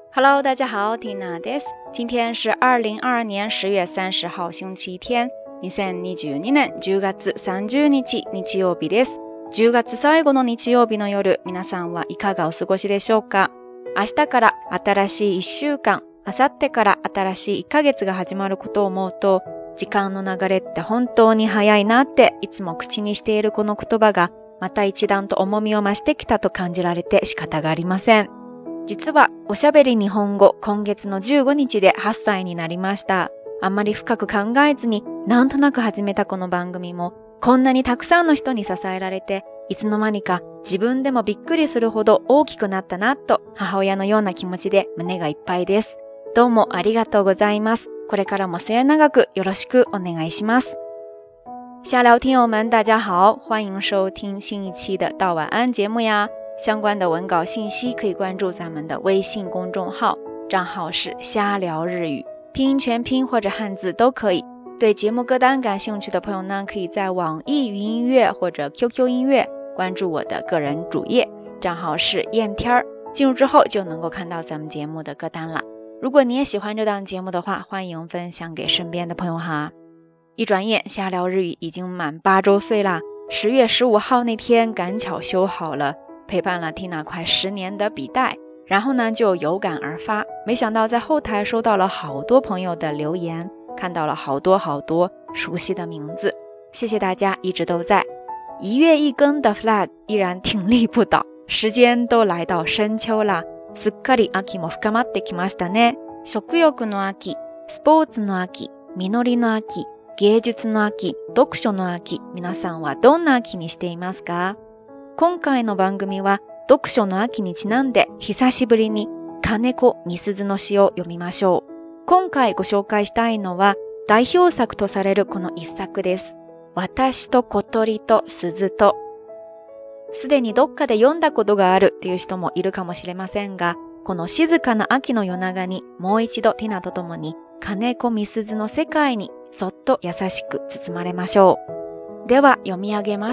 Hello， 大家好，Tina です。今天是2022年10月30号星期天。2022年10月30日日曜日です。10月最後の日曜日の夜、皆さんはいかがお過ごしでしょうか？明日から新しい1週間、明後日から新しい1ヶ月が始まることを思うと、時間の流れって本当に早いなっていつも口にしているこの言葉がまた一段と重みを増してきたと感じられて仕方がありません。実はおしゃべり日本語今月の15日で8歳になりました。あんまり深く考えずになんとなく始めたこの番組もこんなにたくさんの人に支えられていつの間にか自分でもびっくりするほど大きくなったなと母親のような気持ちで胸がいっぱいです。どうもありがとうございます。これからも末永くよろしくお願いします。下聊听友们大家好，欢迎收听新一期的到晚安节目呀。相关的文稿信息可以关注咱们的微信公众号，账号是瞎聊日语，拼音全拼或者汉字都可以。对节目歌单感兴趣的朋友呢，可以在网易云音乐或者 QQ 音乐关注我的个人主页，账号是燕天儿，进入之后就能够看到咱们节目的歌单了。如果你也喜欢这档节目的话，欢迎分享给身边的朋友哈。一转眼瞎聊日语已经满8周岁啦，10月15号那天赶巧修好了，陪伴了 Tina 快10年的笔袋，然后呢就有感而发，没想到在后台收到了好多朋友的留言，看到了好多熟悉的名字，谢谢大家一直都在。1月1更的 flag 依然挺立不倒，时间都来到深秋啦，すっかり秋も深まってきましたね。食欲の秋、スポーツの秋、実りの秋、芸術の秋、読書の秋、皆さんはどんな秋にしていますか？今回の番組は読書の秋にちなんで久しぶりに金子みすずの詩を読みましょう。今回ご紹介したいのは代表作とされるこの一作です。私と小鳥と鈴と。すでにどっかで読んだことがあるっていう人もいるかもしれませんが、この静かな秋の夜長にもう一度ティナと共に金子みすずの世界にそっと優しく包まれましょう。では読み上げます。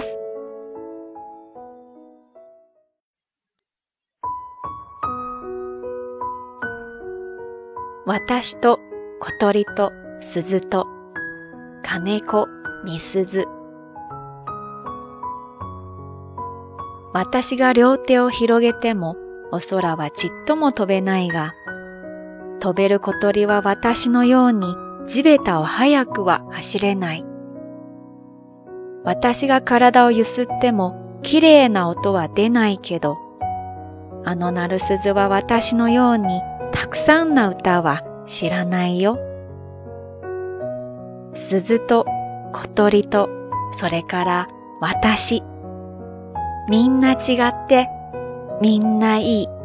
私と小鳥と鈴と金子みすず。私が両手を広げてもお空はちっとも飛べないが、飛べる小鳥は私のように地べたを早くは走れない。私が体をゆすってもきれいな音は出ないけど、あの鳴る鈴は私のようにたくさんな歌は知らないよ。鈴と小鳥とそれから私。みんな違ってみんないい。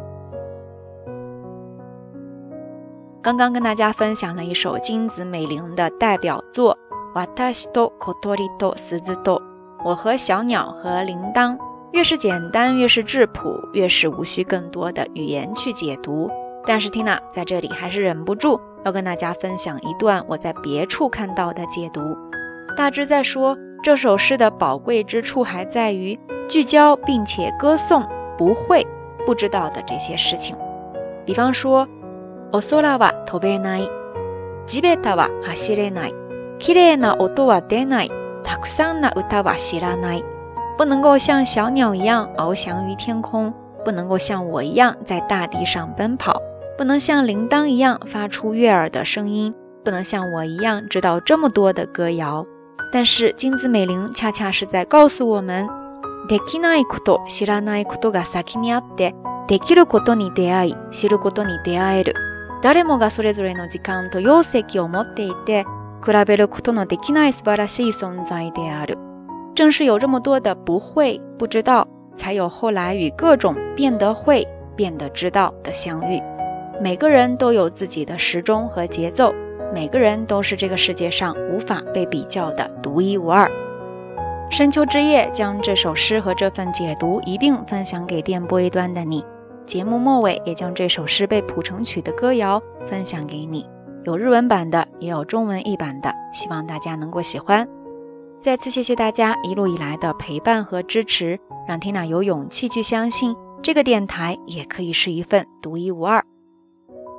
刚刚跟大家分享了一首金子美玲的代表作私と小鳥と鈴と，我和小鸟和铃铛。越是简单越是质朴，越是无需更多的语言去解读。但是 Tina 在这里还是忍不住要跟大家分享一段我在别处看到的解读。大致在说这首诗的宝贵之处还在于聚焦并且歌颂不会不知道的这些事情。比方说お空は飛べない、地べたは走れない、綺麗な音は出ない、たくさんな歌は知らない。不能够像小鸟一样翱翔于天空，不能够像我一样在大地上奔跑，不能像铃铛一样发出悦耳的声音，不能像我一样知道这么多的歌谣。但是金子美玲恰恰是在告訴我们，できないこと、知らないことが先にあって、できることに出会い、知ることに出会える。誰もがそれぞれの時間と容積を持っていて、比べることのできない素晴らしい存在である。正是有这么多的不会、不知道，才有后来与各种变得会、变得知道的相遇。每个人都有自己的时钟和节奏，每个人都是这个世界上无法被比较的独一无二。深秋之夜将这首诗和这份解读一并分享给电波一端的你，节目末尾也将这首诗被谱成曲的歌谣分享给你，有日文版的也有中文译版的，希望大家能够喜欢。再次谢谢大家一路以来的陪伴和支持，让 Tina 有勇气去相信这个电台也可以是一份独一无二。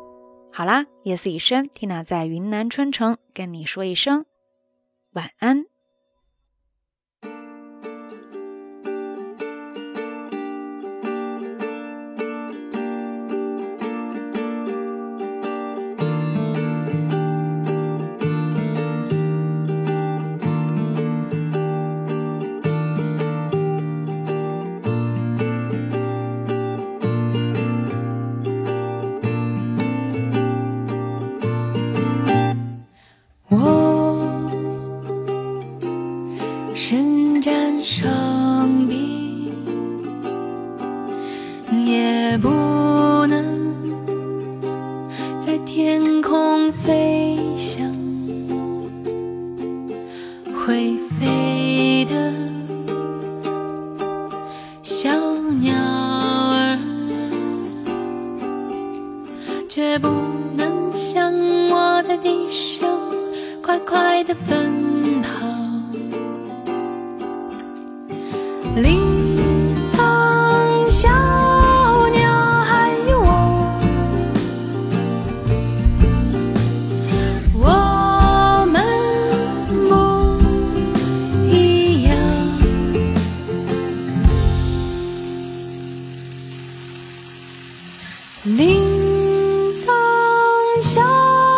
好啦，夜色已深，Tina 在云南春城跟你说一声晚安。 伸展双臂，也不能在天空飞翔，会飞的小鸟儿，却不能像我在地上快快地奔跑。铃铛小鸟还有我们不一样。铃铛小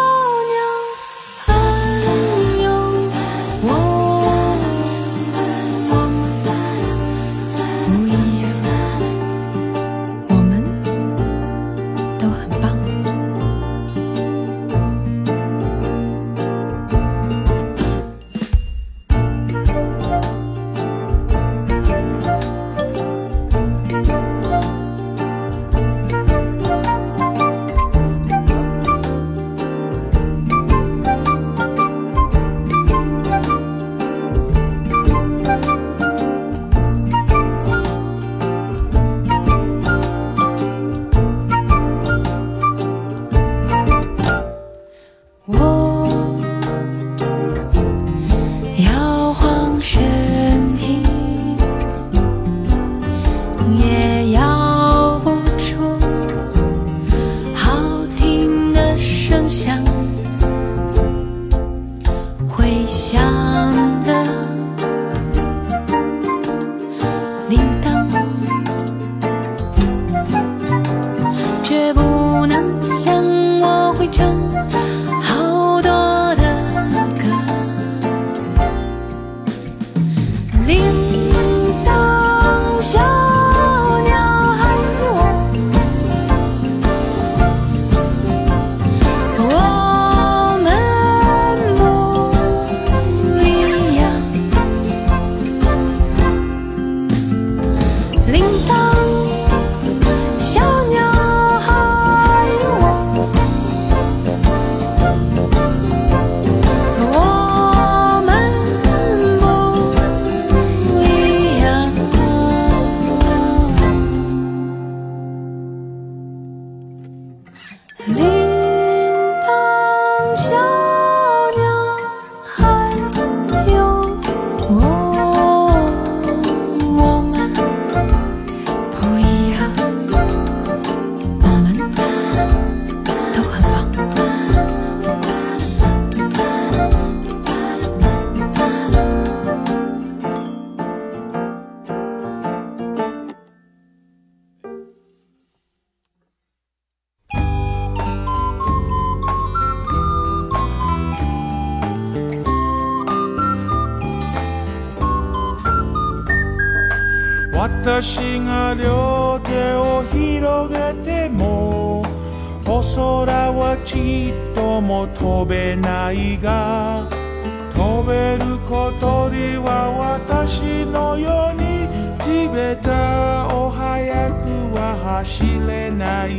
私が両手を広げてもお空はちっとも飛べないが飛べる小鳥は私のように地べたを速くは走れない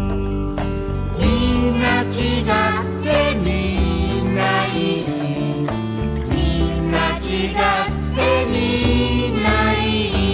みんな違ってみんないいみんな違ってみんないい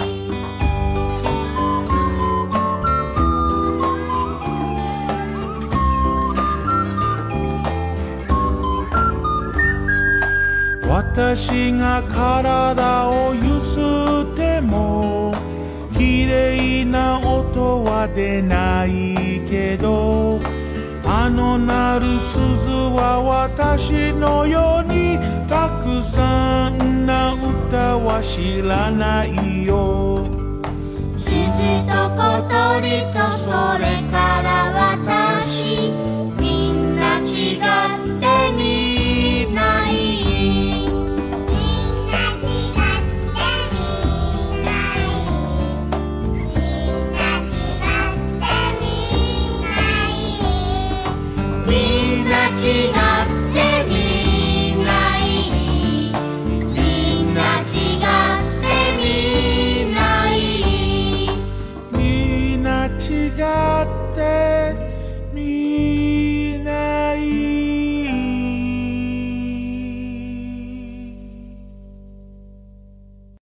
私が体をゆすっても綺麗な音は出ないけどああのなる鈴は私のようにたくさんな歌は知らないよ。 鈴と小鳥とそれから私、みんな違ってみない。みんな違ってみない。みんな違ってみない。 みんな違って